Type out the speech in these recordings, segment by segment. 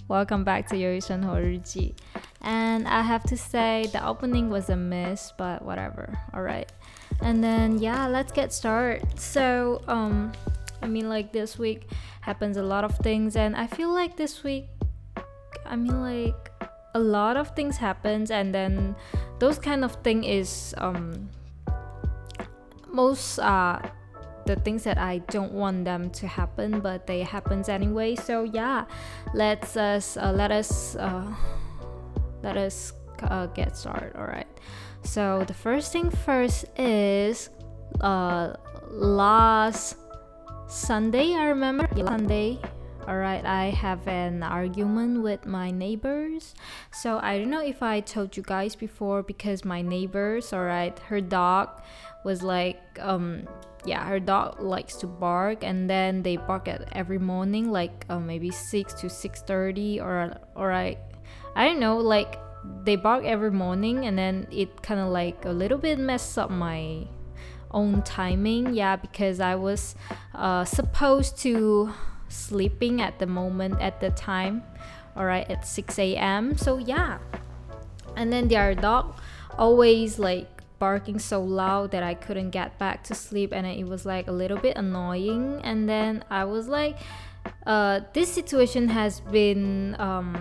Welcome back to 有一生活日记. And I have to say the opening was a miss, but whatever. Alright. And then yeah, let's get started. So like this week happens a lot of things, and I feel like this week a lot of things happens, and then those kind of thing is most the things that I don't want them to happen, but they happens anyway. So yeah, let us get started. All right. So the first thing first is last Sunday, I remember. Sunday. Alright, I have an argument with my neighbors. So I don't know if I told you guys before, because my neighbors, alright, her dog was like, her dog likes to bark, and then they bark at every morning, like maybe 6 to 6:30, or I don't know, like they bark every morning, and then it kind of like a little bit messed up my own timing. Yeah, because I was supposed to sleeping at the time, alright, at 6 a.m. So yeah, and then their dog always like barking so loud that I couldn't get back to sleep, and it was like a little bit annoying. And then I was like, this situation has been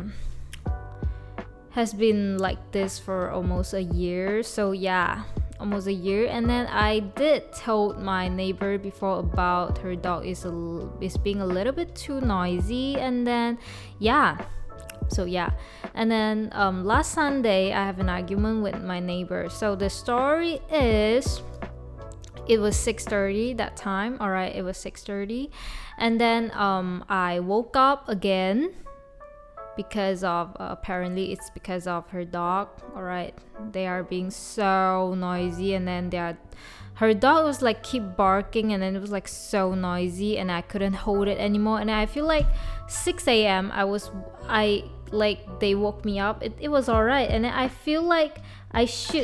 like this for almost a year. So yeah, almost a year. And then I did told my neighbor before about her dog is being a little bit too noisy. And then and then last Sunday I have an argument with my neighbor. So the story is, it was 6:30 that time. Alright, it was 6:30, and then I woke up again because of apparently it's because of her dog. Alright, they are being so noisy, and then her dog was like keep barking, and then it was like so noisy, and I couldn't hold it anymore. And I feel like 6 a.m. they woke me up. It was alright, and I feel like I should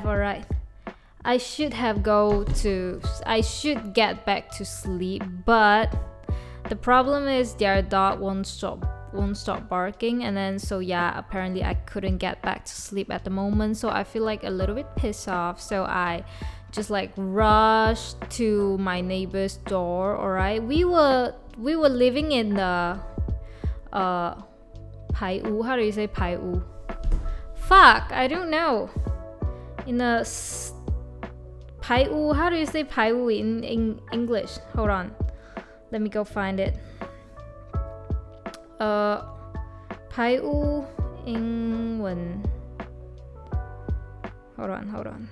get back to sleep, but the problem is their dog won't stop barking. And then so yeah, apparently I couldn't get back to sleep at the moment, so I feel like a little bit pissed off. So I just like rushed to my neighbor's door. Alright, we were living in the Pai U. How do you say Pai U? Fuck, I don't know. In the Pai U, how do you say Pai U in English? Hold on, let me go find it. Pai U 英文 Hold on.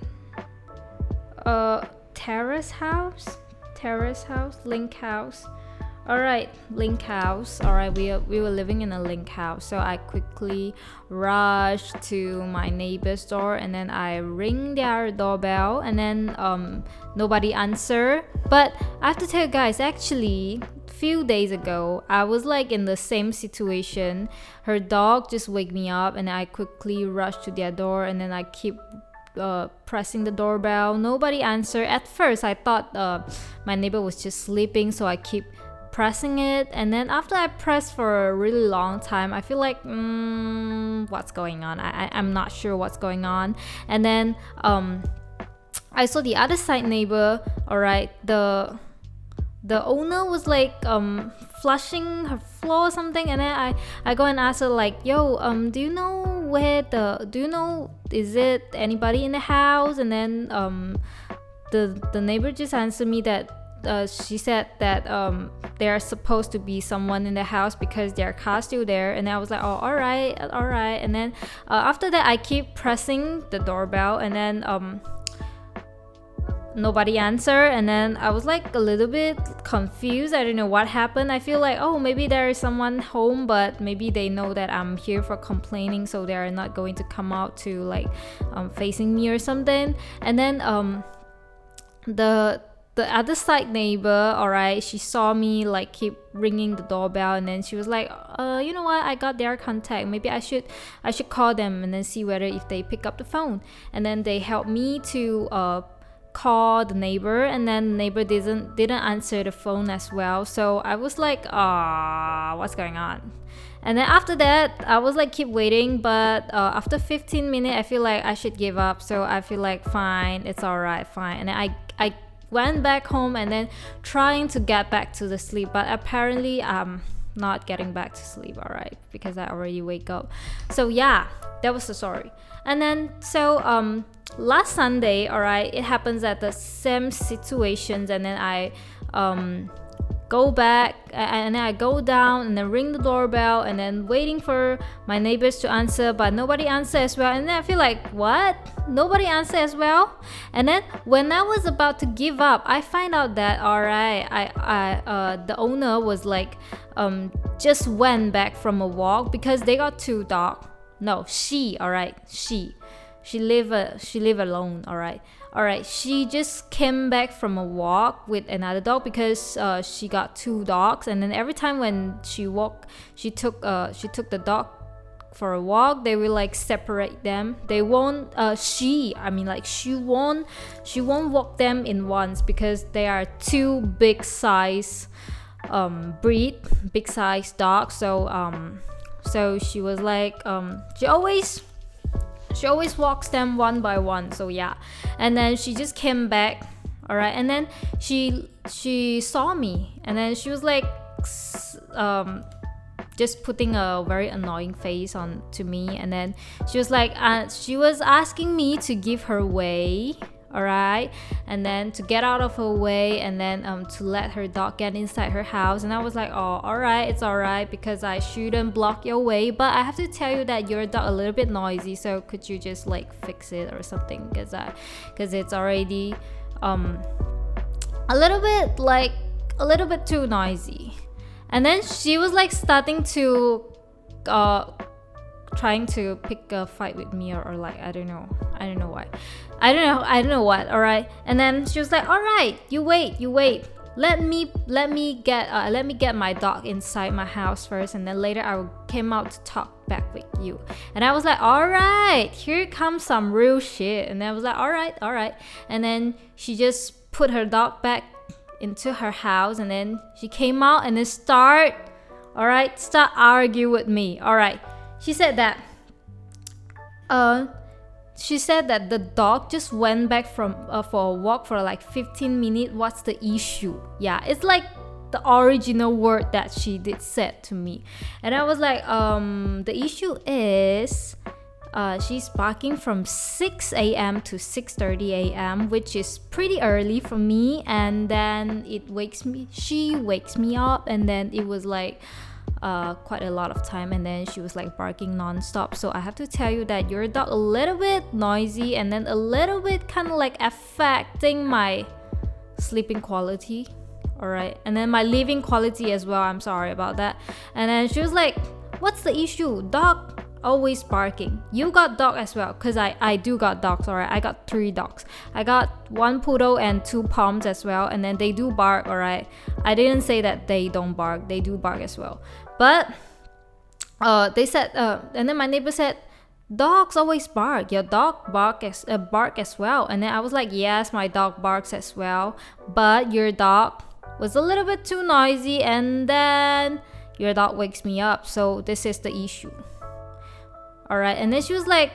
Terrace house, link house. Alright, link house. Alright, we were living in a link house. So I quickly rushed to my neighbor's door, and then I ring their doorbell, and then nobody answer. But I have to tell you guys, actually few days ago I was like in the same situation. Her dog just wake me up, and I quickly rushed to their door, and then I keep pressing the doorbell. Nobody answer. At first I thought my neighbor was just sleeping, so I keep pressing it. And then after I pressed for a really long time, I feel like what's going on? I'm not sure what's going on. And then I saw the other side neighbor. Alright, the owner was like flushing her floor or something, and then I go and ask her like, yo, do you know is it anybody in the house? And then the neighbor just answered me that she said that there are supposed to be someone in the house because their car's still there. And I was like, oh, alright. And then after that I keep pressing the doorbell, and then nobody answer. And then I was like a little bit confused. I don't know what happened. I feel like, oh, maybe there is someone home, but maybe they know that I'm here for complaining, so they are not going to come out to like facing me or something. And then the other side neighbor, alright, she saw me like keep ringing the doorbell, and then she was like, you know what, I got their contact, maybe I should call them and then see whether if they pick up the phone. And then they helped me to call the neighbor, and then the neighbor didn't answer the phone as well. So I was like, what's going on? And then after that, I was like keep waiting, but after 15 minutes, I feel like I should give up. So I feel like fine, it's alright, fine. And then I went back home and then trying to get back to the sleep, but apparently I'm not getting back to sleep, alright, because I already wake up. So yeah, that was the story. And then so last Sunday, alright, it happens at the same situations, and then I go back and then I go down and then ring the doorbell and then waiting for my neighbors to answer, but nobody answer as well. And then I feel like, what? Nobody answer as well? And then when I was about to give up, I find out that alright, the owner was like just went back from a walk because they got 2 dogs. No, she live alone, alright. She just came back from a walk with another dog because she got 2 dogs, and then every time when she took the dog for a walk, they will like separate them. They won't she won't walk them in once because they are 2 big size big size dogs. So she was like she always walks them one by one. So yeah, and then she just came back, alright, and then she saw me, and then she was like just putting a very annoying face on to me, and then she was like she was asking me to give her way, alright, and then to get out of her way, and then to let her dog get inside her house. And I was like, oh, alright, it's alright, because I shouldn't block your way, but I have to tell you that your dog a little bit noisy, so could you just like fix it or something, because it's already a little bit too noisy. And then she was like starting to trying to pick a fight with me, or like I don't know why, I don't know what, alright. And then she was like, alright, you wait, let me get my dog inside my house first, and then later I will came out to talk back with you. And I was like, alright, here comes some real shit. And then I was like, alright. And then she just put her dog back into her house, and then she came out and then start argue with me. Alright, she said that the dog just went back from for a walk for like 15 minutes. What's the issue? Yeah, it's like the original word that she did said to me. And I was like, the issue is she's barking from 6 a.m. to 6:30 a.m., which is pretty early for me. And then she wakes me up, and then it was like quite a lot of time, and then she was like barking non-stop. So I have to tell you that your dog a little bit noisy, and then a little bit kind of like affecting my sleeping quality, alright, and then my living quality as well. I'm sorry about that. And then she was like, what's the issue? Dog always barking. You got dog as well? Because I do got dogs, alright. I got 3 dogs. I got 1 poodle and 2 poms as well, and then they do bark, alright. I didn't say that they don't bark. They do bark as well. But they said, and then my neighbor said, dogs always bark. Your dog bark as well. And then I was like, yes, my dog barks as well, but your dog was a little bit too noisy, and then your dog wakes me up. So this is the issue. Alright, and then she was like,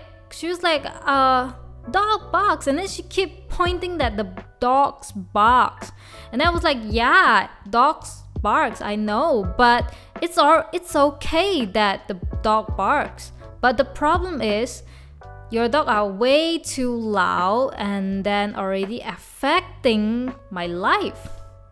dog barks, and then she kept pointing that the dogs barks, and I was like, yeah, dogs barks, I know, but it's okay that the dog barks, but the problem is your dog are way too loud, and then already affecting my life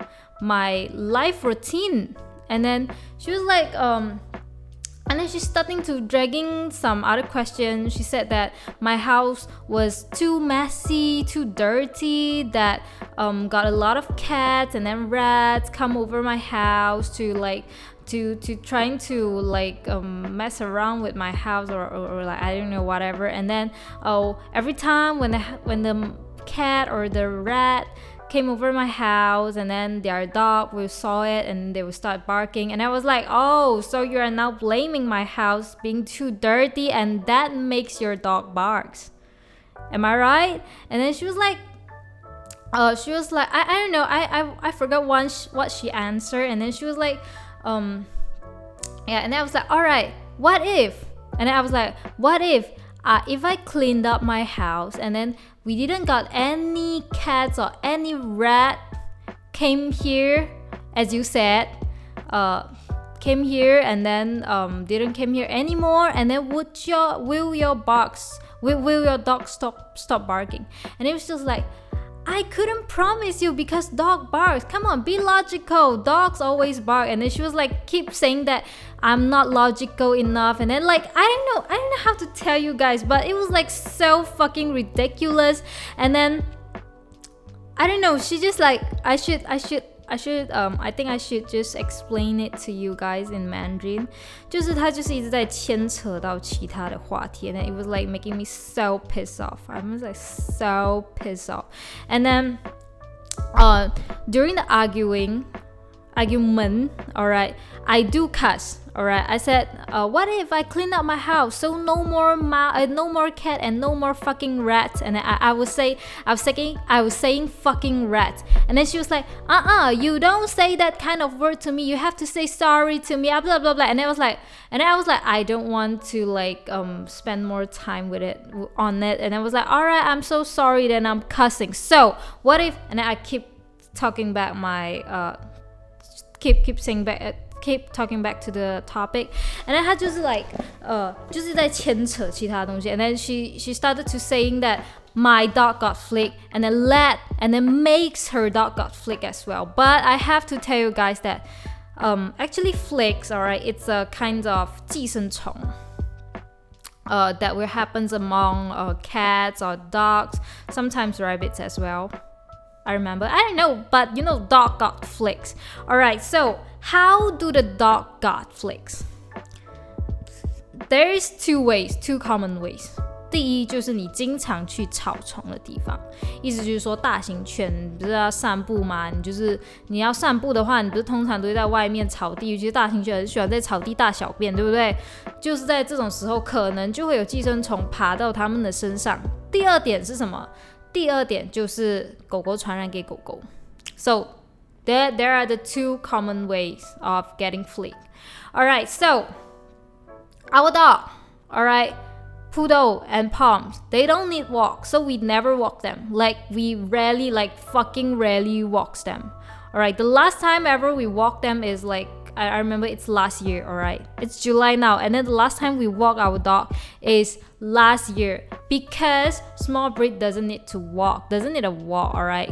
routine. And then she was like, and then she's starting to dragging some other questions. She said that my house was too messy, too dirty, that got a lot of cats and then rats come over my house to trying to mess around with my house or like I don't know, whatever. And then every time when the cat or the rat came over my house, and then their dog will saw it and they will start barking, and I was like, oh, so you are now blaming my house being too dirty, and that makes your dog barks, am I right? And then she was like I don't know, I forgot what she answered. And then she was like Yeah, and then I was like, all right, what if? And then I was like, what if I cleaned up my house and then we didn't got any cats or any rat came here, as you said, came here and then didn't came here anymore, and then will your dog stop barking? And it was just like, I couldn't promise you because dog barks. Come on, be logical. Dogs always bark. And then she was like, keep saying that I'm not logical enough. And then like, I don't know how to tell you guys, but it was like so fucking ridiculous. And then I don't know. She just like, I think I should just explain it to you guys in Mandarin. 就是她就是一直在牵扯到其他的话题 and then it was like making me so pissed off. I was like so pissed off. And then during the argument, alright, I do cuss. Alright, I said, what if I clean up my house so no more cat and no more fucking rat? And I was saying fucking rat. And then she was like, you don't say that kind of word to me. You have to say sorry to me. Blah blah blah. And I was like, I don't want to like spend more time on it. And I was like, alright, I'm so sorry. Then I'm cussing. So what if? And then I keep talking back keep talking back to the topic, and then 她就是 like 就是在牵扯其他东西 and then she started to saying that my dog got flicked and then makes her dog got flicked as well. But I have to tell you guys that actually flicks, alright, it's a kind of 寄生虫 that will happens among cats or dogs, sometimes rabbits as well. I remember, I don't know, but you know, dog got flicks. Alright, so how do the dog got flicks? There's two common ways. 第一就是你经常去草丛的地方，意思就是说大型犬你不是要散步吗？你要散步的话，你不是通常都会在外面草地，尤其是大型犬很喜欢在草地大小便，对不对？就是在这种时候，可能就会有寄生虫爬到它们的身上。第二点是什麼？第二點就是狗狗傳染給狗狗。So there are the two common ways of getting fleek. Alright, so our dog, alright, Poodle and Poms, they don't need walk, so we never walk them. Like we rarely, like fucking rarely walks them. Alright, the last time ever we walked them is like, I remember it's last year, alright? It's July now, and then the last time we walked our dog is last year because small breed doesn't need a walk, alright?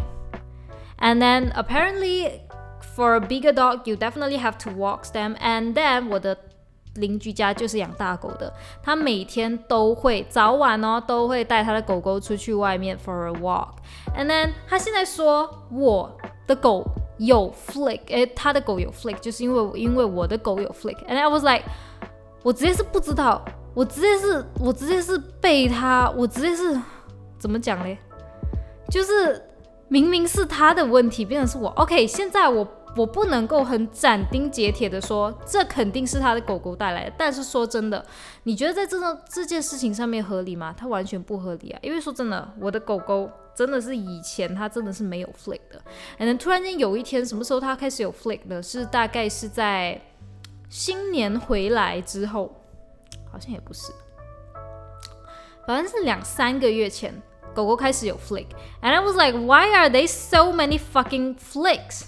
And then apparently for a bigger dog, you definitely have to walk them. And then 我的鄰居家就是養大狗的，他每天都會早晚都會帶他的狗狗出去外面 for a walk. And then 他現在說我的狗有 flick， 他的狗有 flick， 就是因為我的狗有 flick。 And I was like， 我直接是不知道，我直接是被他，我直接是怎麼講嘞？就是明明是他的問題，變成是我。OK， 現在我不能夠很斬釘截鐵的說，這肯定是他的狗狗帶來的。但是說真的，你覺得在這件事情上面合理嗎？它完全不合理啊！因為說真的，我的狗狗真的是以前它真的是沒有 flick 的， and then 突然間有一天，什麼時候它開始有 flick 的？是大概是在新年回來之後，好像也不是，反正是2-3個月前，狗狗開始有 flick。 And I was like, why are there so many fucking flicks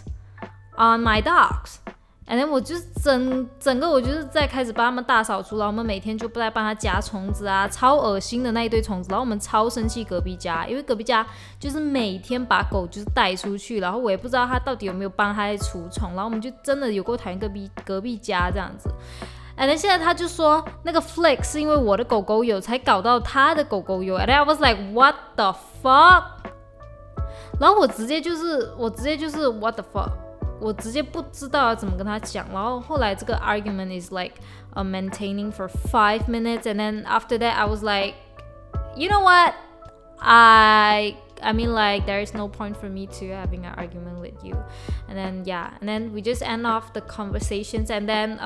on my dogs? And then 我就整個我就是在開始幫他們大掃除，然後我們每天就不再幫他夾蟲子啊，超噁心的那一堆蟲子，然後我們超生氣隔壁家，因為隔壁家就是每天把狗就是帶出去，然後我也不知道他到底有沒有幫他在除蟲，然後我們就真的有夠討厭隔壁家這樣子。And then 現在他就說那個 flick 是因為我的狗狗有才搞到他的狗狗有。 And I was like, what the fuck? 然後我直接就是 what the fuck? 我直接不知道要怎麼跟他講，然後後來這個 argument is like maintaining for 5 minutes, and then after that I was like, you know what, I mean like there is no point for me to having an argument with you. And then yeah, and then we just end off the conversations, and then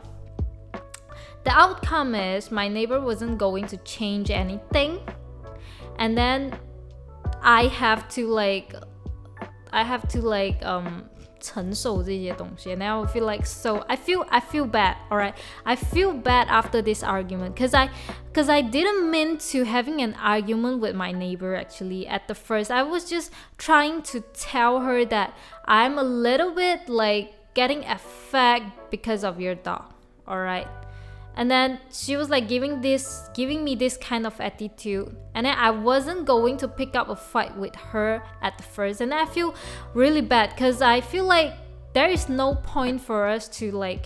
the outcome is my neighbor wasn't going to change anything, and then I have to like 承受這些東西 and I feel like I feel bad, alright? I feel bad after this argument because I didn't mean to having an argument with my neighbor actually at the first. I was just trying to tell her that I'm a little bit like getting affected because of your dog, alright? And then she was like giving me this kind of attitude, and then I wasn't going to pick up a fight with her at the first, and I feel really bad because I feel like there is no point for us to like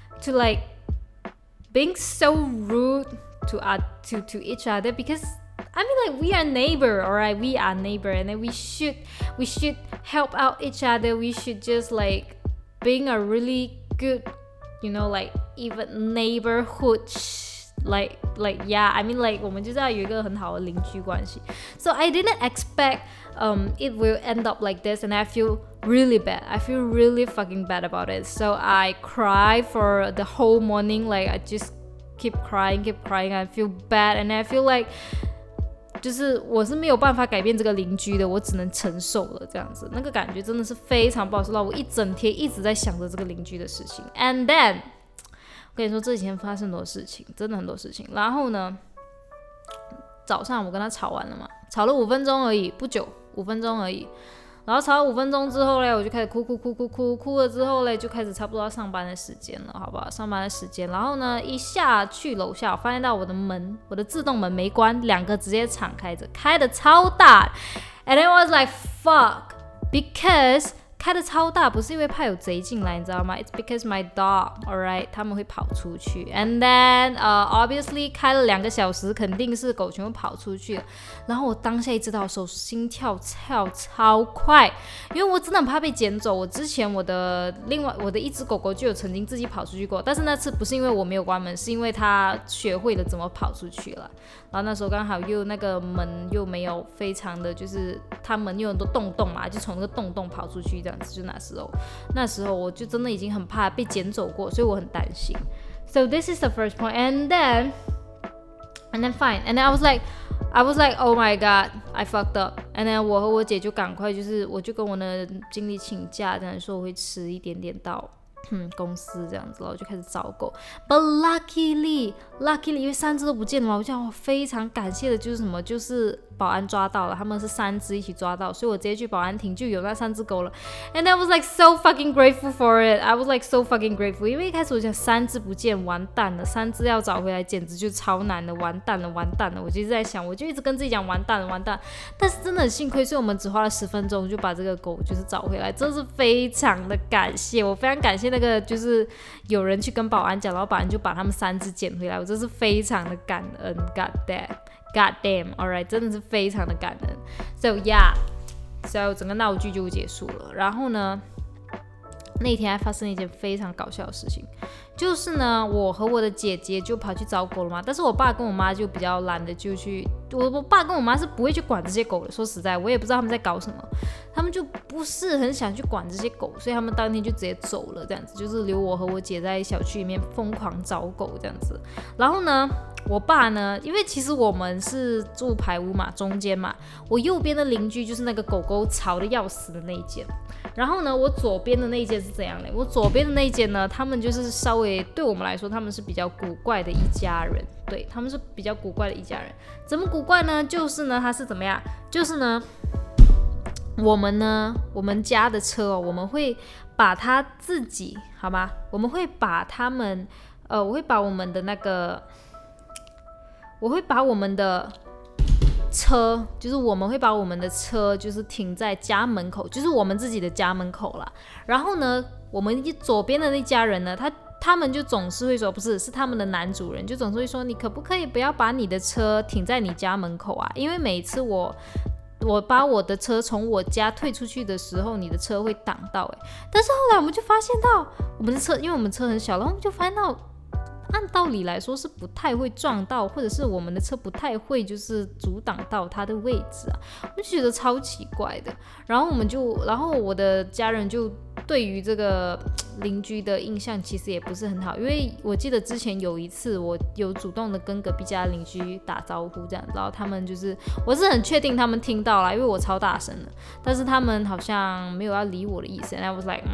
being so rude to each other, because I mean like we are neighbor, alright? We are neighbor, and then we should help out each other. We should just like being a really good, you know, like even neighborhood like yeah, I mean like 我们就是要有一个很好的邻居关係。So I didn't expect it will end up like this, and I feel really bad. I feel really fucking bad about it. So I cried for the whole morning. Like I just keep crying. I feel bad, and I feel like就是我是没有办法改变这个邻居的，我只能承受了这样子。那个感觉真的是非常不好受到，我一整天一直在想着这个邻居的事情。And then我跟你說，這幾天發生很多事情，真的很多事情。然後呢，早上我跟他吵完了嘛，吵了5分鐘而已，不久，5分鐘而已。然後吵了5分鐘之後呢，我就開始哭了之後呢，就開始差不多要上班的時間了，好不好？上班的時間。然後呢，一下去樓下，我發現到我的門，我的自動門沒關，2個直接敞開着，開得超大。And it was like fuck, because開得超大不是因為怕有賊進來，你知道嗎？ It's because my dog, alright, 他們會跑出去。And then obviously 開了2個小時，肯定是狗全部跑出去了。然後我當下一知道的時候，心跳超快，因為我真的很怕被撿走。我之前我的一隻狗狗就有曾經自己跑出去過，但是那次不是因為我沒有關門，是因為它學會了怎麼跑出去了。然後那時候剛好又那個門又沒有非常的，就是它門有很多洞嘛，就從那個洞跑出去這樣子。就那時候我就真的已經很怕被撿走過，所以我很擔心。So this is the first point, and then fine, and then I was like, oh my god, I fucked up. And then 我和我姐就趕快我就跟我的經理請假，這樣說我會遲一點點到公司這樣子，然後就開始找狗。But luckily 因為3隻都不見了嘛，我想我非常感謝的就是什麼，就是保安抓到了，他們是3隻一起抓到，所以我直接去保安亭就有那3隻狗了。And I was like so fucking grateful for it. I was like so fucking grateful. 因為一開始我想3隻不見完蛋了，3隻要找回來簡直就超難的，完蛋了。我就一直在想，我就一直跟自己講完蛋了。但是真的很幸虧，所以我們只花了10分鐘就把這個狗就是找回來，真是非常的感謝，我非常感謝那個就是有人去跟保安講，然後保安就把他們3隻撿回來，我真是非常的感恩。God damn, alright, 真的是非常的感恩。So yeah, so 整個鬧劇就結束了。然後呢，那天還發生一件非常搞笑的事情，就是呢，我和我的姐姐就跑去找狗了嘛，但是我爸跟我媽就比較懶得就去，我爸跟我媽是不會去管這些狗的。說實在，我也不知道他們在搞什麼，他們就不是很想去管這些狗，所以他們當天就直接走了，這樣子，就是留我和我姐在小區裡面瘋狂找狗這樣子。然後呢，我爸呢，因為其實我們是住排屋嘛，中間嘛，我右邊的鄰居就是那個狗狗吵得要死的那一間，然後呢，我左邊的那一間是怎樣嘞？我左邊的那一間呢，他們就是稍微對我們來說，他們是比較古怪的一家人，對，他們是比較古怪的一家人。怎麼古怪呢？就是呢，他是怎麼樣？就是呢，我們家的車哦，我們會把它自己，好吧？我們會把他們，我會把我們的那個。我會把我們的車，就是我們會把我們的車，就是停在家門口，就是我們自己的家門口啦。然後呢，我們左邊的那家人呢，他們就總是會說，不是，是他們的男主人就總是會說，你可不可以不要把你的車停在你家門口啊？因為每一次我把我的車從我家退出去的時候，你的車會擋到。但是後來我們就發現到，我們的車，因為我們車很小，然後我們就發現到。按道理來說是不太會撞到，或者是我們的車不太會就是阻擋到它的位置啊，我就覺得超奇怪的。然後我的家人就對於這個鄰居的印象其實也不是很好，因為我記得之前有一次我有主動的跟隔壁家鄰居打招呼這樣，然後他們就是我是很確定他們聽到了，因為我超大聲的，但是他們好像沒有要理我的意思。And I was like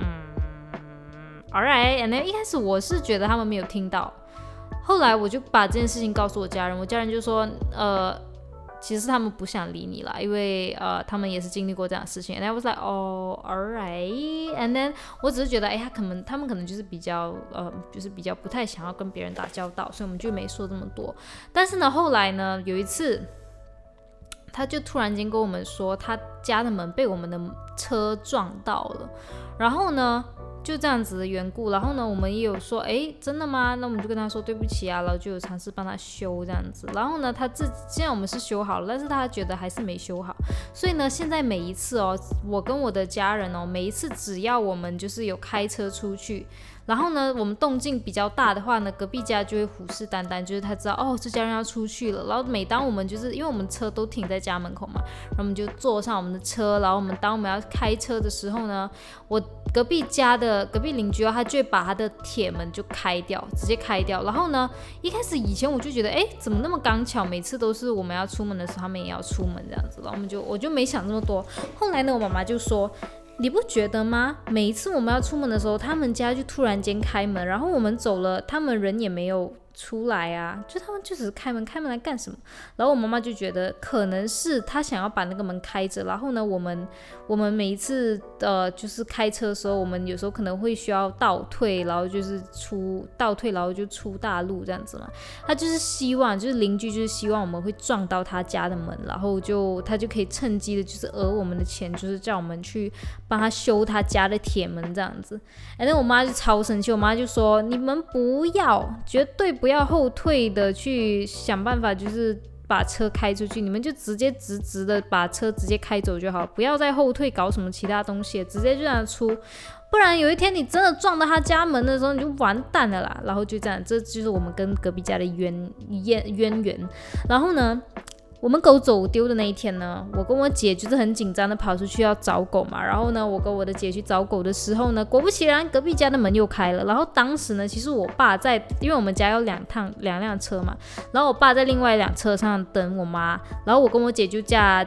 alright， and then 一開始我是覺得他們沒有聽到，後來我就把這件事情告訴我家人，我家人就說其實他們不想理你啦，因為他們也是經歷過這樣的事情。And I was like oh alright， and then 我只是覺得他們可能就是比較不太想要跟別人打交道，所以我們就沒說這麼多。但是呢，後來呢，有一次他就突然間跟我們說，他家的門被我們的車撞到了，然後呢就這樣子的緣故，然後呢，我們也有說，真的嗎？那我們就跟他說對不起啊，然後就有嘗試幫他修這樣子。然後呢，既然我們是修好了，但是他覺得還是沒修好，所以呢，現在每一次我跟我的家人每一次只要我們就是有開車出去，然後呢，我們動靜比較大的話呢，隔壁家就會虎視眈眈，就是他知道這家人要出去了。然後每當我們就是因為我們車都停在家門口嘛，然後我們就坐上我們的車，然後當我們要開車的時候呢，我隔壁鄰居他就會把他的鐵門就直接開掉。然後呢，一開始以前我就覺得怎麼那麼剛巧，每次都是我們要出門的時候他們也要出門這樣子，然後我就沒想這麼多。後來呢，我媽媽就說，你不覺得嗎？每一次我們要出門的時候，他們家就突然間開門，然後我們走了，他们人也沒有出來啊，就他们就只是開門來幹什麼？然後我媽媽就覺得可能是他想要把那個門開着，然後呢，我們每一次就是開車的時候，我們有時候可能會需要倒退，然後就是倒退，然後就出大路這樣子嘛。他就是希望，就是鄰居就是希望我們會撞到他家的門，然後他就可以趁機的就是訛我們的錢，就是叫我們去幫他修他家的鐵門這樣子。然後我媽就超生氣，我媽就說，你們不要，絕對不要後退的去想辦法，就是把車開出去，你們就直接直直的把車直接開走就好，不要再後退搞什麼其他東西，直接就讓它出，不然有一天你真的撞到他家門的時候，你就完蛋了啦。然後就這樣，這就是我們跟隔壁家的淵源。然後呢，我們狗走丟的那一天呢，我跟我姐就是很緊張的跑出去要找狗嘛。然後呢，我跟我的姐去找狗的時候呢，果不其然，隔壁家的門又開了。然后當時呢，其實我爸在，因為我們家有兩輛車嘛，然後我爸在另外一輛車上等我媽，然後我跟我姐就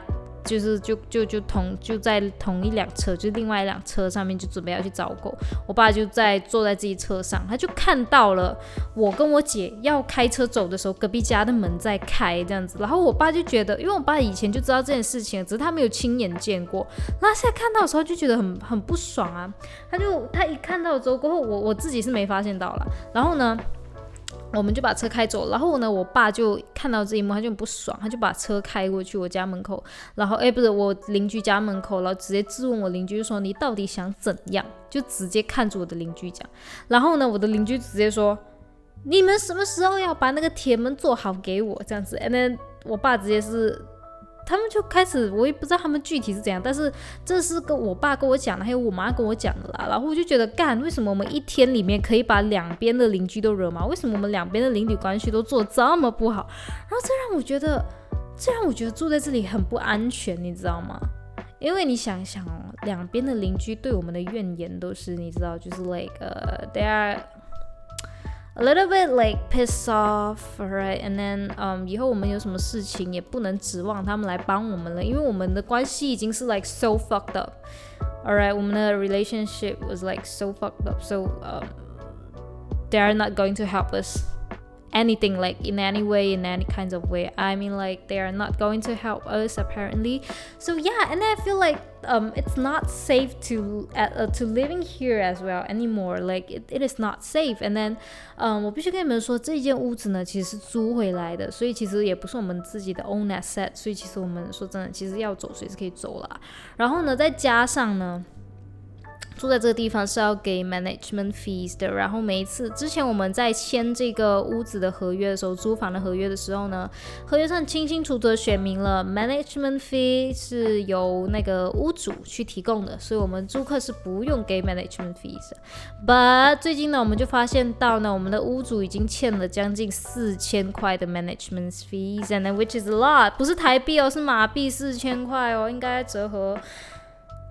在同一輛車，就是另外一輛車上面就準備要去找狗。我爸就坐在自己車上，他就看到了我跟我姐要開車走的時候，隔壁家的門在開這樣子。然後我爸就覺得，因為我爸以前就知道這件事情，只是他沒有親眼見過。然後現在看到的時候就覺得很不爽啊。他一看到之後過後，我自己是沒發現到啦。然後呢，我們就把車開走，然後呢，我爸就看到這一幕，他就很不爽，他就把車開過去我家門口，然後不是我鄰居家門口，然後直接質問我鄰居說，你到底想怎樣？就直接看着我的鄰居講。然後呢，我的鄰居直接說，你們什麼時候要把那個鐵門做好給我這樣子。And then 我爸直接是，他們就開始，我也不知道他們具體是怎樣，但是這是我爸跟我講的，還有我媽跟我講的啦。然後我就覺得，為什麼我們一天裡面可以把兩邊的鄰居都惹毛？為什麼我們兩邊的鄰里關係都做得這麼不好？然後這讓我覺得住在這裡很不安全，你知道嗎？因為你想想兩邊的鄰居對我們的怨言都是，你知道，就是 they are a little bit pissed off, right? And then 以後我們有什麼事情也不能指望他們來幫我們了，因為我們的關係已經是so fucked up, alright? 我們的 relationship was so fucked up, so they are not going to help us anything in any way, in any kinds of way. I mean they are not going to help us apparently. So yeah, and I feel it's not safe to living here as well anymore. It is not safe. And then 我必須跟你們說，這一間屋子呢其實是租回來的，所以其實也不是我們自己的 own asset， 所以其實我們說真的，其實要走隨時可以走啦。然後呢，再加上呢，住在這個地方是要給 management fees 的，然後每一次之前我們在簽這個屋子的合約的時候，租房的合約的時候呢，合約上清清楚楚的寫明了 management fee 是由那個屋主去提供的，所以我們租客是不用給 management fees 的。But 最近呢，我們就發現到呢，我們的屋主已經欠了將近4000塊的 management fees，and which is a lot， 不是台幣哦，是馬幣4000塊哦，應該折合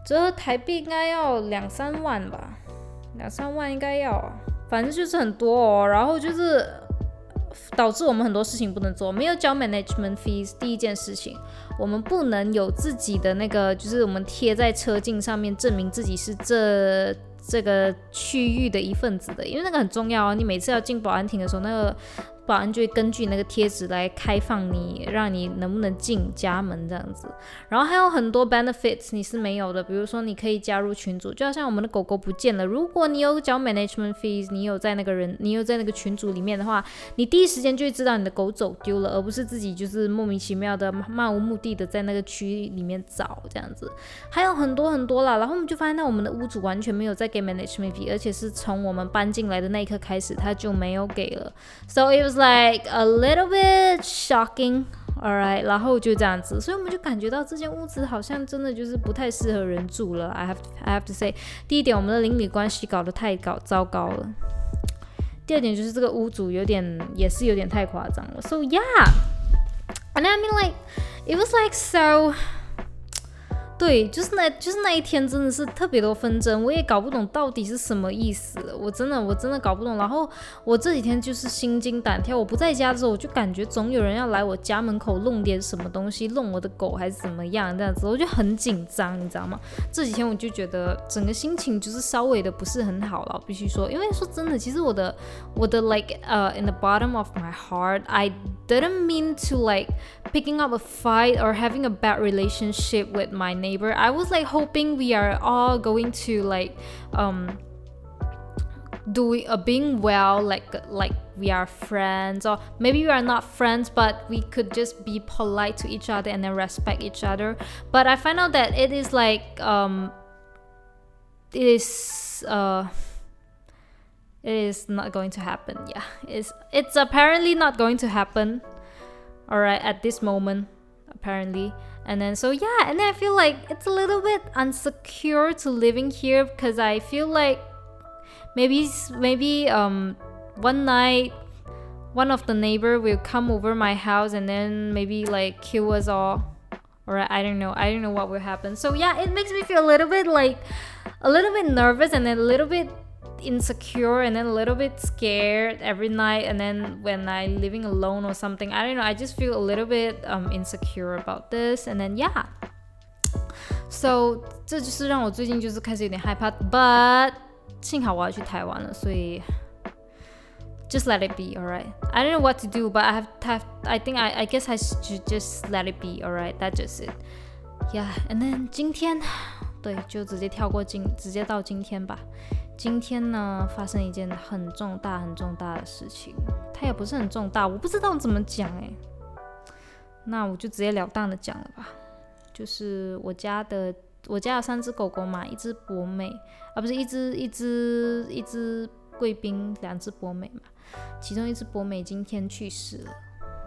這台幣應該要2-3萬吧，2-3萬應該要，反正就是很多哦。然後就是導致我們很多事情不能做，沒有交 management fees。第一件事情，我們不能有自己的那個，就是我們貼在車鏡上面證明自己是這個區域的一份子的，因為那個很重要哦。你每次要進保安亭的時候，那個保安就會根據那個貼紙來開放你，讓你能不能進家門這樣子。然後還有很多 benefits 你是沒有的，比如說你可以加入群組，就好像我們的狗狗不見了，如果你有交 management fees， 你有在那個群組裡面的話，你第一時間就會知道你的狗走丟了，而不是自己就是莫名其妙的漫無目的的在那個區裡面找這樣子。還有很多很多啦，然後我們就發現到我們的屋主完全沒有在給 management fee， 而且是從我們搬進來的那一刻開始他就沒有給了。So it was like a little bit shocking, alright， 然後就這樣子，所以我們就感覺到這間屋子好像真的就是不太適合人住了。I have to say， 第一點，我們的鄰里關係搞得太糟糕了。第二點就是這個屋主也是有點太誇張了。So yeah, and I mean like it was like so。对，就是那一天真的是特別多紛爭，我也搞不懂到底是什麼意思，我真的搞不懂。然後我這幾天就是心驚膽跳，我不在家的時候，我就感覺總有人要來我家門口弄點什麼東西，弄我的狗還是怎麼樣這樣子，我就很緊張，你知道嗎？這幾天我就覺得整個心情就是稍微的不是很好了，我必須說，因為說真的，其實我的 like in the bottom of my heart, I didn't mean to like picking up a fight or having a bad relationship with my neighbor. I was like hoping we are all going to like being well, like we are friends, or maybe we are not friends, but we could just be polite to each other and then respect each other. But I find out that it is like it is not going to happen. Yeah, it's apparently not going to happen. Alright, at this moment, apparently. And then so yeah, and then I feel like it's a little bit insecure to living here because I feel like maybe one night one of the neighbor will come over my house and then maybe like kill us all. Alright, I don't know what will happen. So yeah, it makes me feel a little bit nervous and then a little bit insecure and then a little bit scared every night, and then when I'm living alone or something, I don't know, I just feel a little bit insecure about this, and then yeah, so 這就是讓我最近就是開始有點害怕 but 幸好我要去台灣了，所以 just let it be, alright. I don't know what to do, but I guess I should just let it be, alright. That's just it. Yeah, and then 今天對，就直接到今天吧。今天呢，發生一件很重大的事情，它也不是很重大，我不知道怎麼講欸。那我就直截了當的講了吧，就是我家有3隻狗狗嘛，一隻博美啊，不是一隻貴賓，2隻博美嘛，其中一隻博美今天去世了。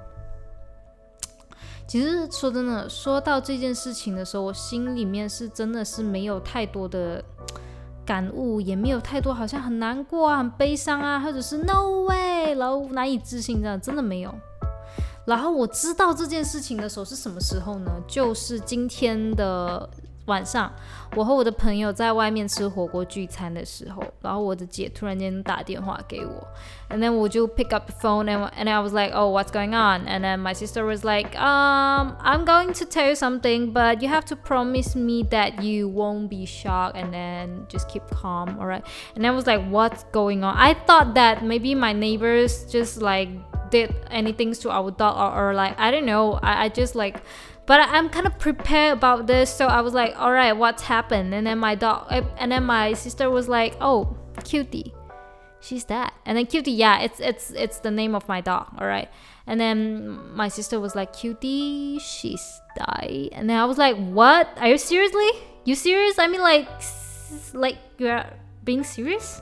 其實說真的，說到這件事情的時候，我心裡面是真的是沒有太多的感悟，也沒有太多好像很難過啊、很悲傷啊，或者是 no way， 然後難以置信這樣，真的沒有。然後我知道這件事情的時候是什麼時候呢？就是今天的晚上，我和我的朋友在外面吃火鍋聚餐的時候，然後我的姐突然間打電話給我 and then 我就 pick up the phone and I was like, oh, what's going on? And then my sister was like, I'm going to tell you something, but you have to promise me that you won't be shocked and then just keep calm, alright? And I was like, what's going on? I thought that maybe my neighbors just like did anything to our dog or like, I don't know, I just like, but I'm kind of prepared about this, so I was like, all right, what's happened? And then my sister was like, oh, Cutie, she's dead. And then Cutie, yeah, it's the name of my dog, all right. And then my sister was like, Cutie, she's died. And then I was like, what? Are you serious? I mean, like you're being serious?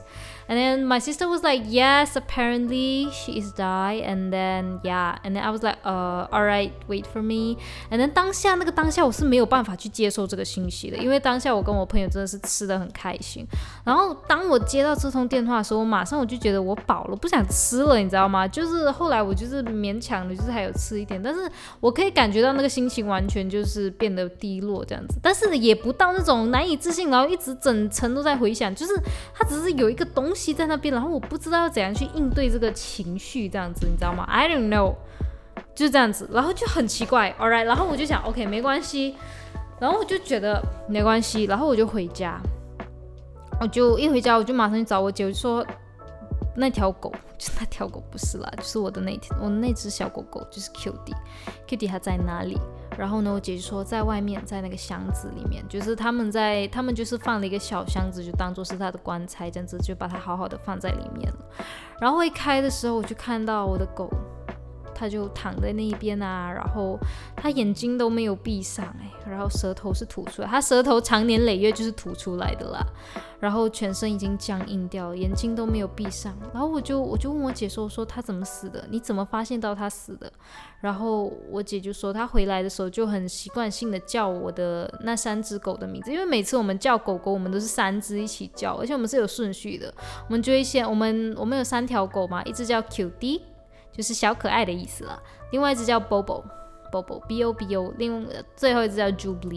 And then my sister was like, yes, apparently she is died. And then I was like, alright, wait for me. And then当下我是没有办法去接受这個信息的，因為當下我跟我朋友真的是吃得很開心。然後當我接到這通電話的時候，馬上我就覺得我飽了，不想吃了，你知道嗎？就是後來我就是勉強的，就是還有吃一點，但是我可以感覺到那個心情完全就是變得低落這樣子，但是也不到那種難以置信，然後一直整程都在回想，就是它只是有一個東西在那邊，然後我不知道要怎樣去應對這個情緒這樣子，你知道嗎？ I don't know， 就是這樣子，然後就很奇怪 ，alright， 然後我就想 OK 沒關係，然後我就覺得沒關係，然後我就回家，我就一回家我就馬上去找我姐，我就說那條狗不是啦，就是我的那隻小狗狗就是 Cutie 它在哪裡？然後呢，我姐就說在外面，在那個箱子裡面，就是他們就是放了一個小箱子，就當做是他的棺材這樣子，就把它好好的放在裡面了。然後一開的時候，我就看到我的狗，它就躺在那一邊啊，然後它眼睛都沒有閉上然後舌頭是吐出來，它舌頭長年累月就是吐出來的啦，然後全身已經僵硬掉了，眼睛都沒有閉上。然後我就問我姐說它怎麼死的？你怎麼發現到它死的？然後我姐就說她回來的時候就很習慣性的叫我的那3隻狗的名字，因為每次我們叫狗狗，我們都是3隻一起叫，而且我們是有順序的，我們就會先我們有3條狗嘛，一隻叫 Cutie， 就是小可愛的意思啦，另外一隻叫 Bobo B-O-B-O， 最後一隻叫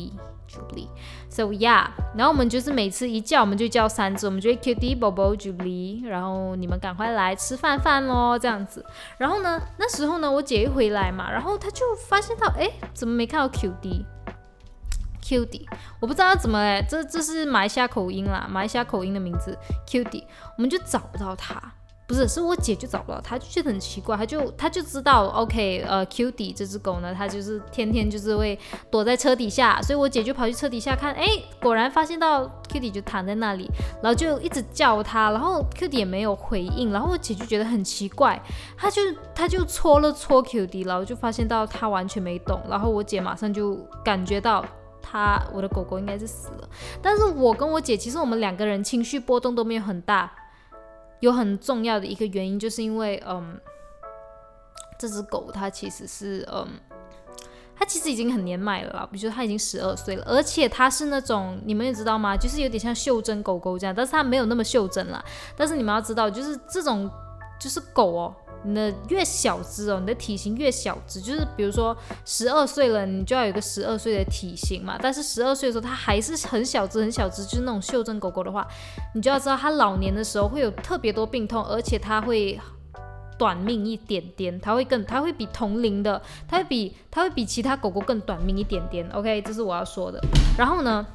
Jubilee，So yeah， 然後我們就是每次一叫我們就叫3隻，我們就會 Cutie、Bobo、Jubilee， 然後你們趕快來吃飯咯這樣子。然後呢，那時候呢我姐一回來嘛，然後她就發現到怎麼沒看到 Cutie， 我不知道要怎麼這是馬來西亞口音啦，馬來西亞口音的名字 Cutie， 我們就找不到她。不是我姐就找不到她，就覺得很奇怪，她就知道 OK Cutie 這隻狗呢，它就是天天就是會躲在車底下，所以我姐就跑去車底下看，果然發現到 Cutie 就躺在那裡，然後就一直叫她，然後 Cutie 也沒有回應，然後我姐就覺得很奇怪，她就戳了戳 Cutie， 然後就發現到她完全沒動，然後我姐馬上就感覺到我的狗狗應該是死了，但是我跟我姐其實我們2個人情緒波動都沒有很大。有很重要的一個原因，就是因為這隻狗它其實是它其實已經很年邁了啦，比如說它已經12歲了，而且它是那種你們也知道嗎？就是有點像袖珍狗狗這樣，但是它沒有那麼袖珍啦。但是你們要知道，就是這種就是狗你的越小隻你的體型越小隻，就是比如說12歲了，你就要有一個12歲的體型嘛。但是12歲的時候，它還是很小隻，就是那種袖珍狗狗的話，你就要知道它老年的時候會有特別多病痛，而且它會短命一點點，它會比同齡的，它會比其他狗狗更短命一點點。OK， 這是我要說的。然後呢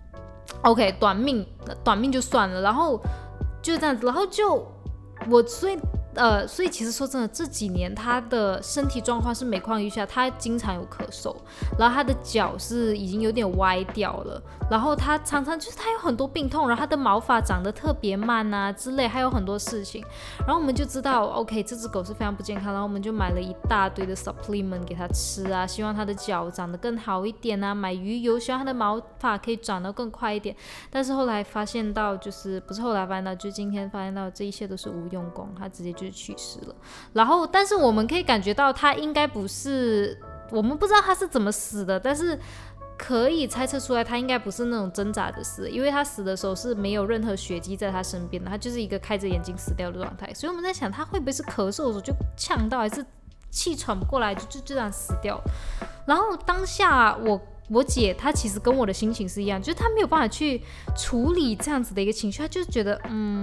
，OK， 短命就算了，然後就這樣子，然後就所以其實說真的，這幾年他的身體狀況是每況愈下，他經常有咳嗽，然後他的腳是已經有點歪掉了，然後他常常就是他有很多病痛，然後他的毛髮長得特別慢啊之類，還有很多事情，然後我們就知道 OK 這隻狗是非常不健康，然後我們就買了一大堆的 supplement 給他吃啊，希望他的腳長得更好一點啊，買魚油，希望他的毛髮可以長得更快一點，但是後來發現到就是今天發現到這一切都是無用功，他直接就去世了。然後但是我們可以感覺到他應該不是，我們不知道他是怎麼死的，但是可以猜測出來他應該不是那種掙扎的死，因為他死的時候是沒有任何血跡在他身邊的，他就是一個開着眼睛死掉的狀態，所以我們在想他會不會是咳嗽的時候就嗆到，還是氣喘不過來就這樣死掉。然後當下我姐她其實跟我的心情是一樣，就是她沒有辦法去處理這樣子的一個情緒，她就是覺得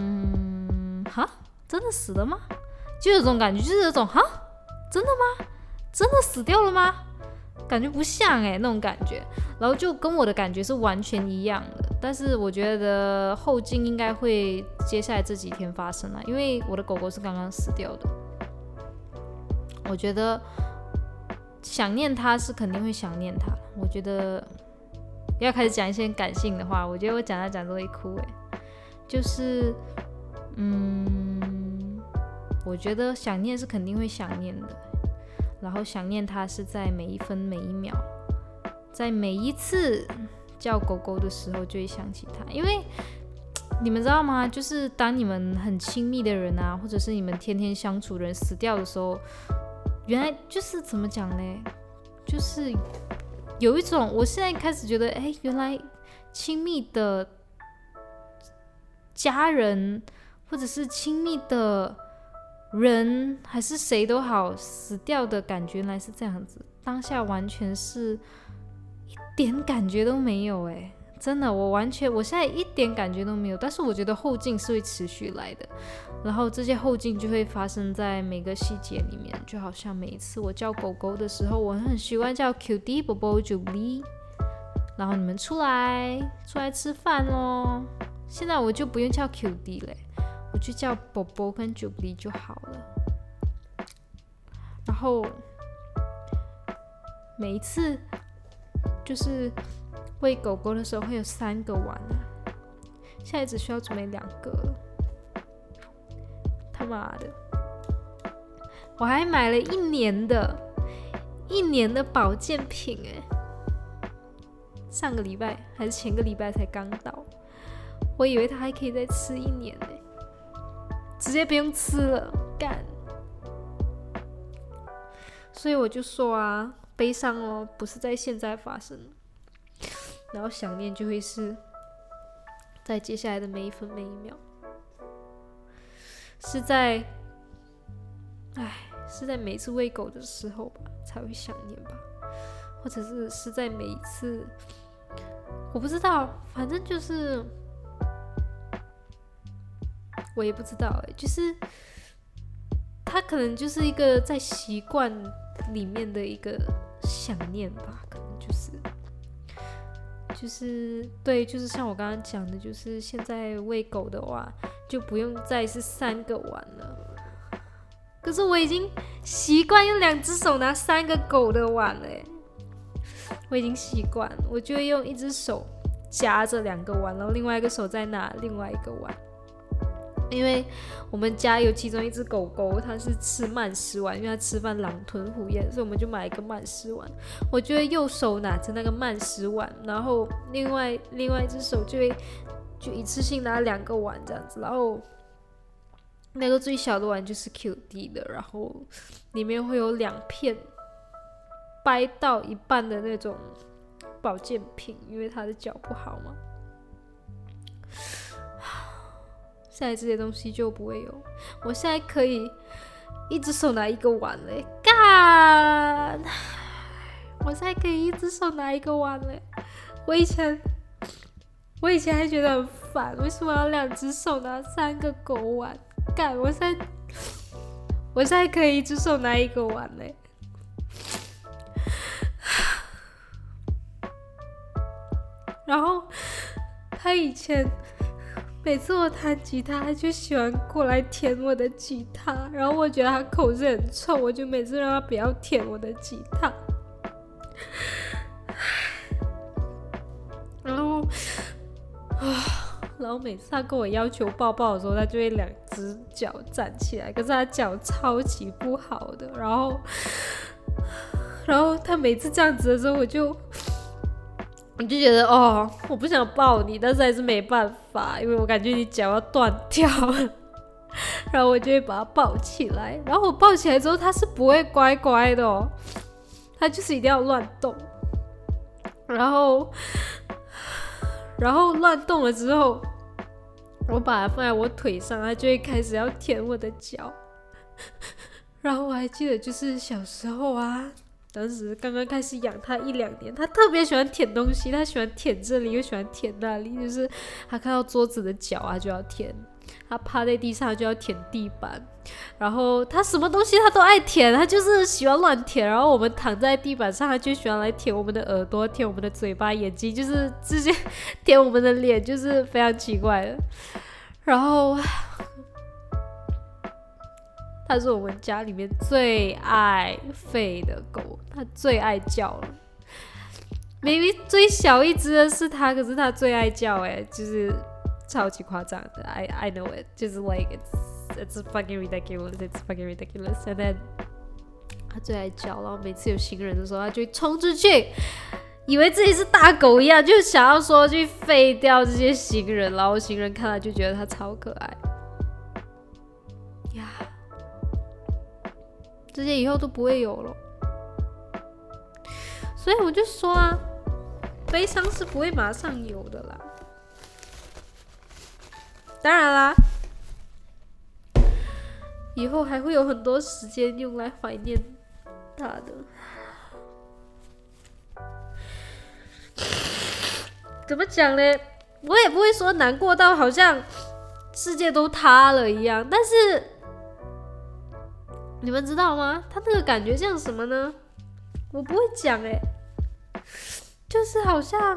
真的死了嗎？就有這種感覺，就是有種真的嗎？真的死掉了嗎？感覺不像那種感覺，然後就跟我的感覺是完全一樣的。但是我覺得后勁應該會接下來這幾天發生了，因為我的狗狗是剛剛死掉的。我覺得想念它是肯定會想念它。我覺得要開始講一些感性的話，我覺得我講都會哭就是我覺得想念是肯定會想念的，然後想念它是在每一分每一秒，在每一次叫狗狗的時候就會想起它，因為你們知道嗎？就是當你們很親密的人啊，或者是你們天天相處的人死掉的時候，原來就是怎麼講呢？就是有一種，我現在開始覺得，原來親密的家人或者是親密的人，還是誰都好，死掉的感覺原來是這樣子。當下完全是一點感覺都沒有，真的，我現在一點感覺都沒有。但是我覺得後勁是會持續來的，然後這些後勁就會發生在每個細節裡面。就好像每一次我叫狗狗的時候，我很習慣叫 Cutie、Bobo、Jubilee， 然後你們出來吃飯咯。現在我就不用叫 Cutie 了，我就叫 Bobo 跟 Jubilee 就好了。然後每一次就是餵狗狗的時候會有3個碗啊，現在只需要準備2個了。他媽的，我還買了1年的保健品上個禮拜還是前個禮拜才剛到，我以為他還可以再吃1年直接不用吃了，幹！所以我就說啊，悲傷哦，不是在現在發生，然後想念就會是在接下來的每一分每一秒，是在每次餵狗的時候吧，才會想念吧，或者是在每一次，我不知道，反正就是我也不知道就是它可能就是一個在習慣裡面的一個想念吧，可能就是對，就是像我刚剛講的，就是現在餵狗的話就不用再是3個碗了，可是我已經習慣用2隻手拿3個狗的碗了我已經習慣了，我就會用1隻手夾着2個碗，然後另外一個手再拿另外一個碗。因為我們家有其中一隻狗狗，它是吃慢食碗，因為它吃飯狼吞虎咽，所以我們就買一個慢食碗。我就會右手拿着那個慢食碗，然後另外一隻手就一次性拿2個碗這樣子，然後那個最小的碗就是 QD 的，然後裡面會有2片掰到一半的那種保健品，因為它的腳不好嘛。現在這些東西就不會有，我現在可以一隻手拿1個碗嘞，幹！我現在可以一隻手拿1個碗嘞，我以前還覺得很煩，為什麼要2隻手拿3個狗碗？幹！我現在可以一隻手拿1個碗嘞。然後他以前每次我彈吉他，他就喜歡過來舔我的吉他，然後我覺得他口水很臭，我就每次讓他不要舔我的吉他。然後每次他跟我要求抱抱的時候，他就會2隻腳站起來，可是他腳超級不好的，然後他每次這樣子的時候，我就覺得我不想抱你，但是還是沒辦法，因為我感覺你腳要斷掉了。然後我就會把它抱起來，然後我抱起來之後，它是不會乖乖的它就是一定要亂動。然後亂動了之後，我把它放在我腿上，它就會開始要舔我的腳。然後我還記得就是小時候啊，當時剛剛開始養它1-2年，它特別喜歡舔東西，它喜歡舔這裡又喜歡舔那裡，就是它看到桌子的角啊就要舔，它趴在地上就要舔地板，然後它什麼東西它都愛舔，它就是喜歡亂舔。然後我們躺在地板上，它就喜歡來舔我們的耳朵、舔我們的嘴巴、眼睛，就是直接舔我們的臉，就是非常奇怪的。然後它是我們家裡面最愛吠的狗，它最愛叫了。明明最小一隻的是它，可是它最愛叫就是超級誇張的。I know it， 就是 like it's fucking ridiculous， it's fucking ridiculous。And then 它最愛叫，然後每次有新人的時候，它就會衝出去以為自己是大狗一樣，就想要說去廢掉這些行人，然後行人看了就覺得它超可愛呀。這些以後都不會有了，所以我就說啊，悲傷是不會馬上有的啦。當然啦，以後還會有很多時間用來懷念他的。怎麼講呢？我也不會說難過到好像世界都塌了一樣，但是你們知道嗎？他那個感覺像什麼呢？我不會講欸，就是好像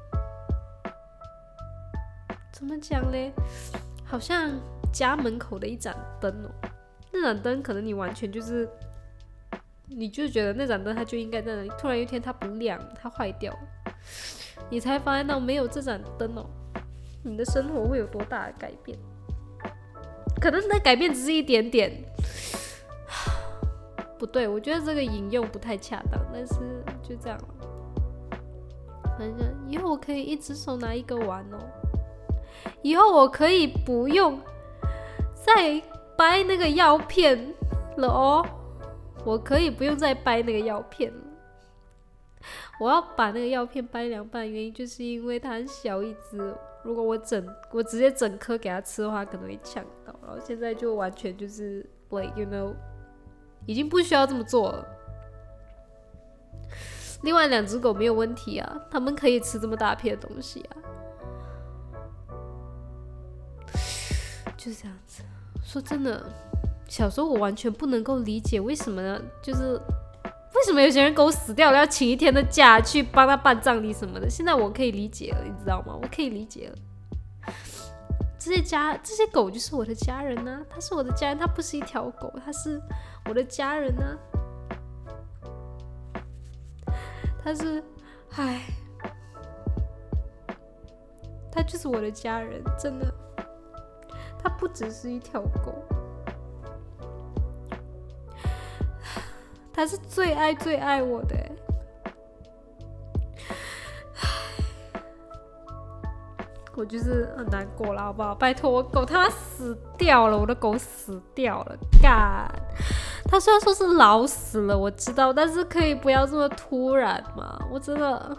怎麼講呢？好像家門口的一盞燈哦，那盞燈可能你完全就是，你就覺得那盞燈它就應該在那裡，突然有一天它不亮，它壞掉了。你才發現到沒有這盞燈哦，你的生活會有多大的改變？可能那改变只是一點點，不對，我覺得這個引用不太恰當，但是就這樣了。反正以後我可以一只手拿一個碗哦，以後我可以不用再掰那個藥片了哦，我可以不用再掰那個藥片了。我要把那個藥片掰2半，原因就是因為它很小一隻，如果我直接整顆給它吃的話，可能會嗆到。然後現在就完全就是 like you know， 已經不需要這麼做了。另外2隻狗沒有問題啊，它們可以吃這麼大片的東西啊，就是這樣子。說真的，小時候我完全不能夠理解為什麼呢？就是為什麼有些人狗死掉了要請1天的假去幫他辦葬禮什麼的？現在我可以理解了，你知道嗎？我可以理解了。這些狗就是我的家人啊，它是我的家人，它不是一條狗，它是我的家人啊。它是，它就是我的家人，真的。它不只是一條狗。他是最愛我的欸，我就是很難過了，好不好？拜託，我狗他媽死掉了，我的狗死掉了，幹！他雖然說是老死了，我知道，但是可以不要這麼突然嘛？我真的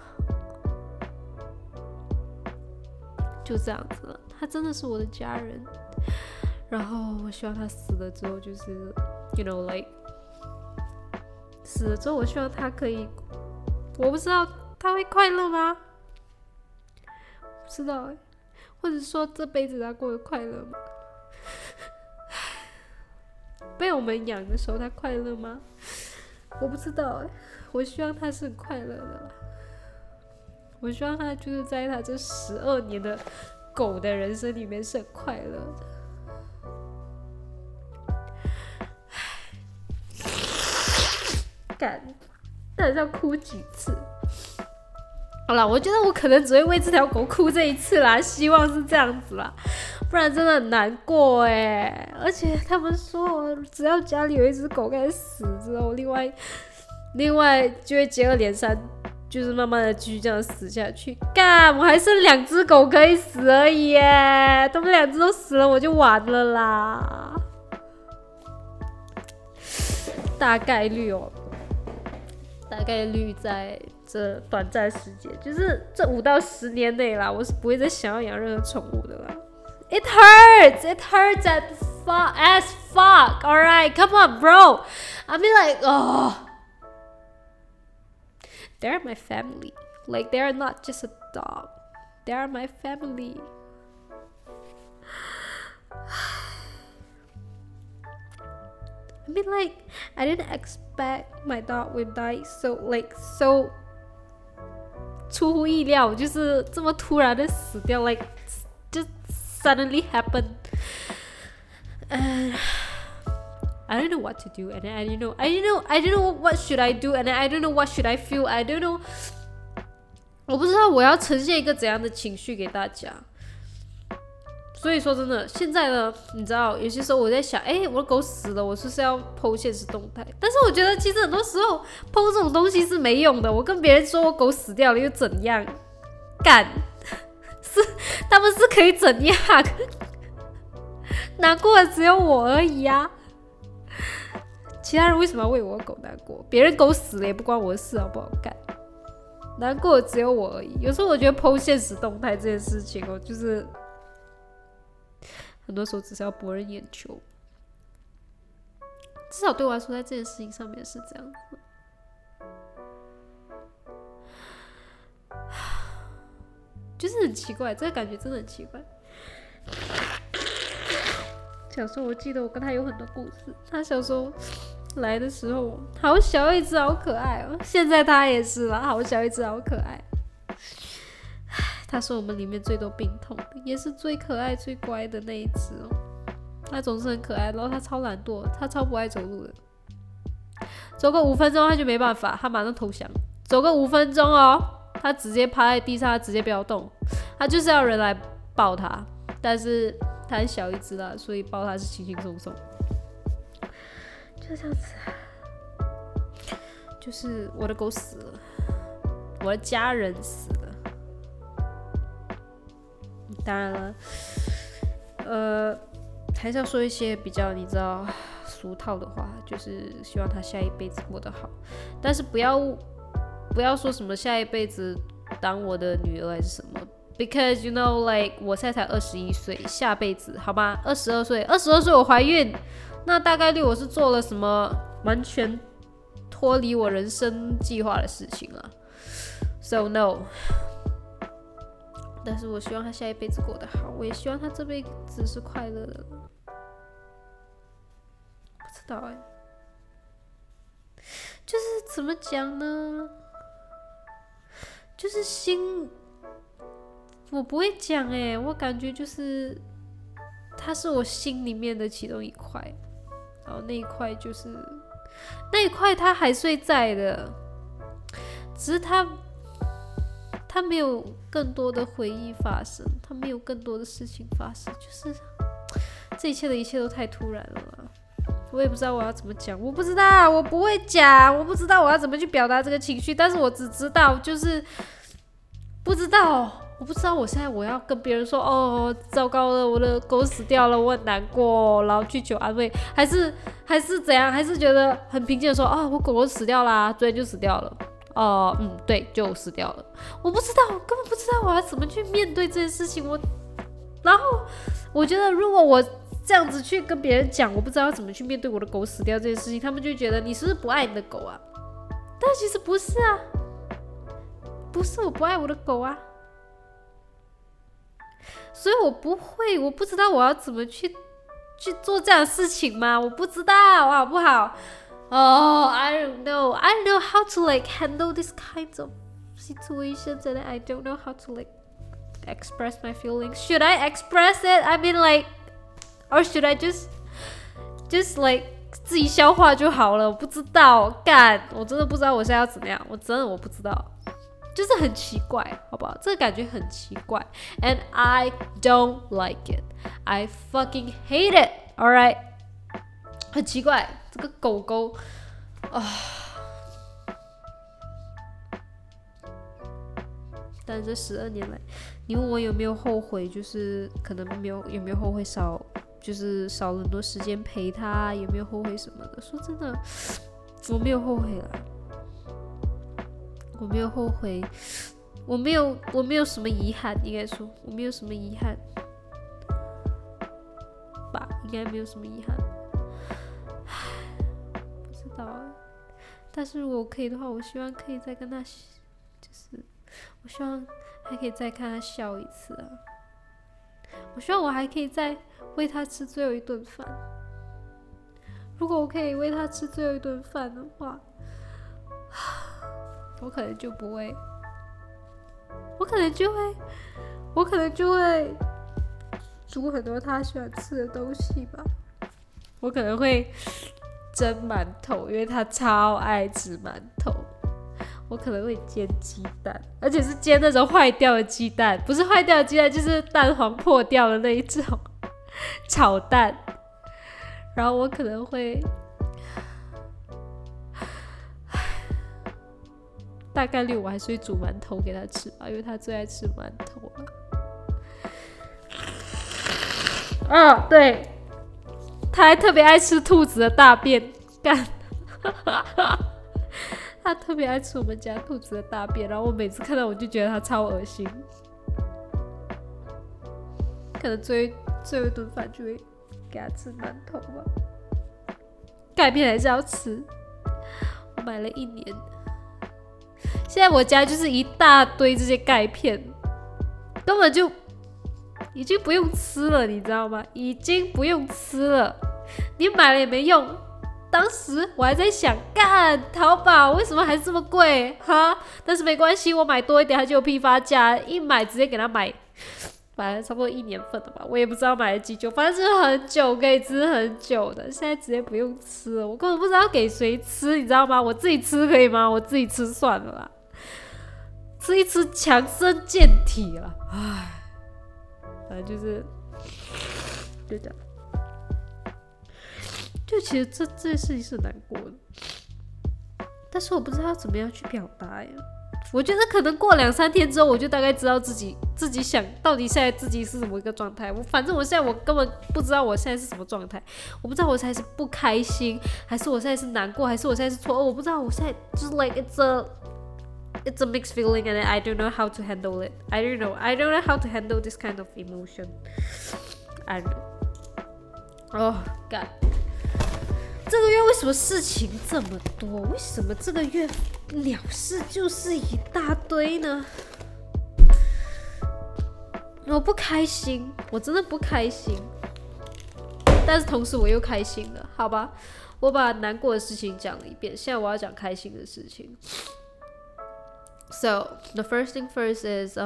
就這樣子了，他真的是我的家人。然後我希望他死了之後，就是 you know like。死了之後，我希望他可以，我不知道他會快樂嗎？不知道欸，或者說這輩子他過得快樂嗎？被我們養的時候他快樂嗎？我不知道欸，我希望他是很快樂的啦。我希望他就是在他這12年的狗的人生裡面是很快樂的。到底是要哭幾次？好啦，我覺得我可能只會為這條狗哭這一次啦，希望是這樣子啦，不然真的很難過欸。而且他們說，只要家裡有一隻狗開始死之後，另外就會接二連三，就是慢慢的繼續這樣死下去。幹，我還剩2隻狗可以死而已耶，他們2隻都死了，我就完了啦。大概率哦。大概率在這短暫時間，就是這5到10年內啦，我是不會再想要養任何寵物的啦。It hurts as fuck. Alright, come on, bro. I mean like, oh, they're my family. Like they're not just a dog. They're my family. I mean like, I didn't expect my dog would die so 出乎意料，就是這麼突然的死掉 ，like just suddenly happened. And I don't know what to do, and then I don't know what should I do, and then I don't know what should I feel. I don't know. 我不知道我要呈現一個怎樣的情緒給大家， 所以說真的，現在呢，你知道，有些時候我在想，我的狗死了，我是不是要 po 現實動態？但是我覺得其實很多時候 po 這種東西是沒用的。我跟別人說我狗死掉了又怎樣？幹，他們是可以怎樣？難過的只有我而已啊！其他人為什麼要為我的狗難過？別人狗死了也不關我的事，好不好？幹，難過的只有我而已。有時候我覺得 po 現實動態這件事情就是很多時候只是要博人眼球，至少對我來說，在這件事情上面是這樣子。就是很奇怪，這個感覺真的很奇怪。小時候我記得我跟他有很多故事，他小時候來的時候好小一隻，好可愛哦。現在他也是啦，好小一隻，好可愛。他是我們裡面最多病痛的，也是最可愛最乖的那一隻哦。他總是很可愛，然後他超懶惰，他超不愛走路的。走個5分鐘他就沒辦法，他馬上投降。走個5分鐘哦，他直接趴在地上，他直接不要動，他就是要人来抱他。但是他很小一隻啦，所以抱他是輕輕鬆鬆。就這樣子，就是我的狗死了，我的家人死了。當然了，還是要說一些比較你知道俗套的話，就是希望他下一輩子過得好，但是不要說什麼下一輩子當我的女兒還是什麼 ，because you know like 我現在才21歲，下輩子好吧，22歲我懷孕，那大概率我是做了什麼完全脫離我人生計劃的事情了 ，so no。但是我希望他下一輩子過得好，我也希望他這輩子是快樂的。不知道就是怎麼講呢？就是心，我不會講我感覺就是他是我心裡面的其中一塊，然後那一塊就是那一塊他還是在的，只是他沒有更多的回憶發生，他沒有更多的事情發生，就是這一切的一切都太突然了啦。我也不知道我要怎麼講，我不知道，我不會講，我不知道我要怎麼去表達這個情緒，但是我只知道就是不知道，我不知道我現在我要跟別人說哦，糟糕了，我的狗死掉了，我很難過，然後去求安慰，還是怎樣，還是覺得很平靜的說哦，我狗狗死掉啦，昨天就死掉了。對，就死掉了。我不知道，我根本不知道我要怎麼去面對这件事情。然後我覺得，如果我這樣子去跟別人講，我不知道要怎麼去面對我的狗死掉這件事情，他們就會覺得你是不是不愛你的狗啊？但其實不是啊，不是我不愛我的狗啊，所以我不知道我要怎麼去做這樣的事情嗎？我不知道，好不好？I don't know how to like handle this kinds of situations, and I don't know how to like express my feelings. Should I express it? I mean like, or should I just like 自己消化就好了？我不知道，我真的不知道我現在要怎麼樣，我不知道，就是很奇怪，好不好？這個感覺很奇怪 ，and I don't like it. I fucking hate it. All right. 很奇怪，這個狗狗但這12年來，你問我有沒有後悔，就是可能有沒有後悔就是少了很多時間陪他，有沒有後悔什麼的？說真的，我沒有後悔啦，我沒有後悔，我沒有什麼遺憾，應該說我沒有什麼遺憾吧，應該沒有什麼遺憾。但是如果可以的話，我希望可以再跟他，就是我希望還可以再看他笑一次啊！我希望我還可以再餵他吃最後一頓飯。如果我可以餵他吃最後一頓飯的話，我可能就不會，我可能就會煮很多他喜歡吃的東西吧。我可能會蒸饅頭，因為他超愛吃饅頭。 我可能會煎雞蛋，而且是煎那種壞掉的雞蛋，不是壞掉的雞蛋，就是蛋黃破掉的那一種炒蛋。然後我可能會大概率我還是會煮饅頭給他吃吧，因為他最愛吃饅頭了。對，他還特別愛吃兔子的大便，幹。他特別愛吃我們家兔子的大便，然後我每次看到我就覺得他超噁心。可能最後一頓飯就會給他吃饅頭吧，鈣片還是要吃。我買了1年，現在我家就是一大堆這些鈣片，根本就已經不用吃了，你知道嗎？已經不用吃了，你買了也沒用。當時我還在想，幹淘寶為什麼還這麼貴哈？但是沒關係，我買多一點，它就有批發價，一買直接給他買了差不多1年份的吧，我也不知道買了幾久，反正就是很久，可以吃很久的。現在直接不用吃了，我根本不知道給誰吃，你知道嗎？我自己吃可以嗎？我自己吃算了啦，吃一吃強身健體了，唉，反正就這樣。就其實這件事情是難過的，但是我不知道怎麼樣去表達呀。我覺得可能過2-3天之後，我就大概知道自己想到底現在自己是什麼一個狀態。反正我現在我根本不知道我現在是什么狀態，我不知道我現在是不開心，還是我現在是難過，還是我現在是錯愕，我不知道我現在就是 like it's a mixed feeling and I don't know how to handle it. I don't know how to handle this kind of emotion. I don't know. Oh God. 這個月為什麼事情這麼多？為什麼這個月鳥事就是一大堆呢？我不開心，我真的不開心。但是同時我又開心了，好吧？我把難過的事情講了一遍，現在我要講開心的事情。So the first thing first is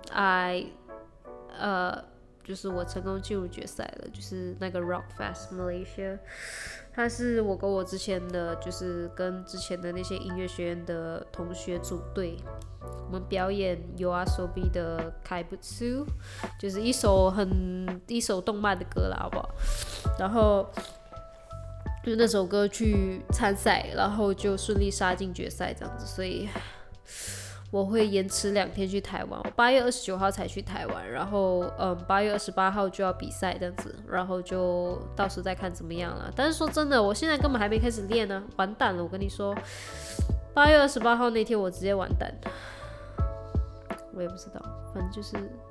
就是我成功進入決賽了，就是那個 Rockfest Malaysia。他是我跟我之前的，就是跟之前的那些音樂學院的同學組隊，我們表演 YOASOBI 的 Kaibutsu， 就是一首動漫的歌啦，好不好？然後就那首歌去參賽，然後就順利殺進決賽這樣子，所以我會延遲2天去台灣，我8月29號才去台灣，然後8月28號就要比賽這樣子，然後就到時再看怎麼樣了。但是說真的，我現在根本還沒開始練呢，完蛋了！我跟你說，8月28號那天我直接完蛋，我也不知道，反正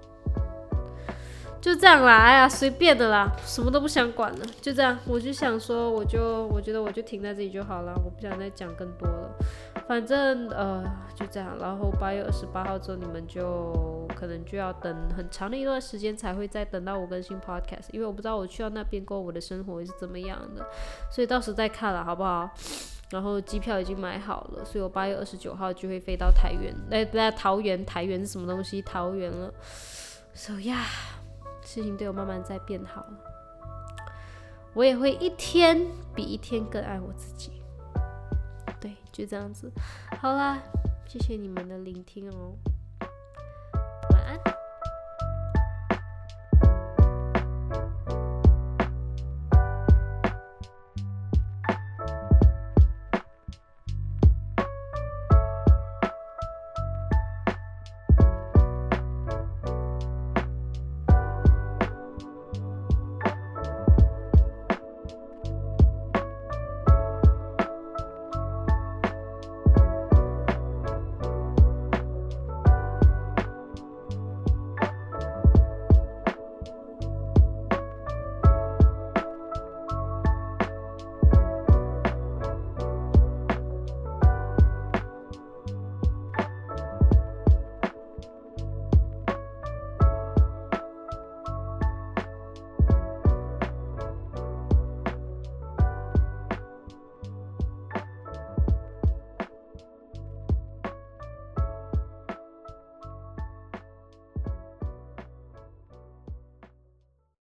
就這樣啦，哎呀，隨便的啦，什麼都不想管了，就這樣。我就想說，我覺得我就停在這裡就好了，我不想再講更多了。反正就這樣，然後8月28號之後，你們就可能就要等很長的一段時間才會再等到我更新 podcast， 因為我不知道我去到那邊過後我的生活會是怎麼樣的，所以到時再看了好不好？然後機票已經買好了，所以我8月29號就會飛到台園，台園是什麼東西？桃園了。So yeah， 事情對我慢慢在變好了，我也會一天比一天更愛我自己。對，就這樣子。好啦，謝謝你們的聆聽哦。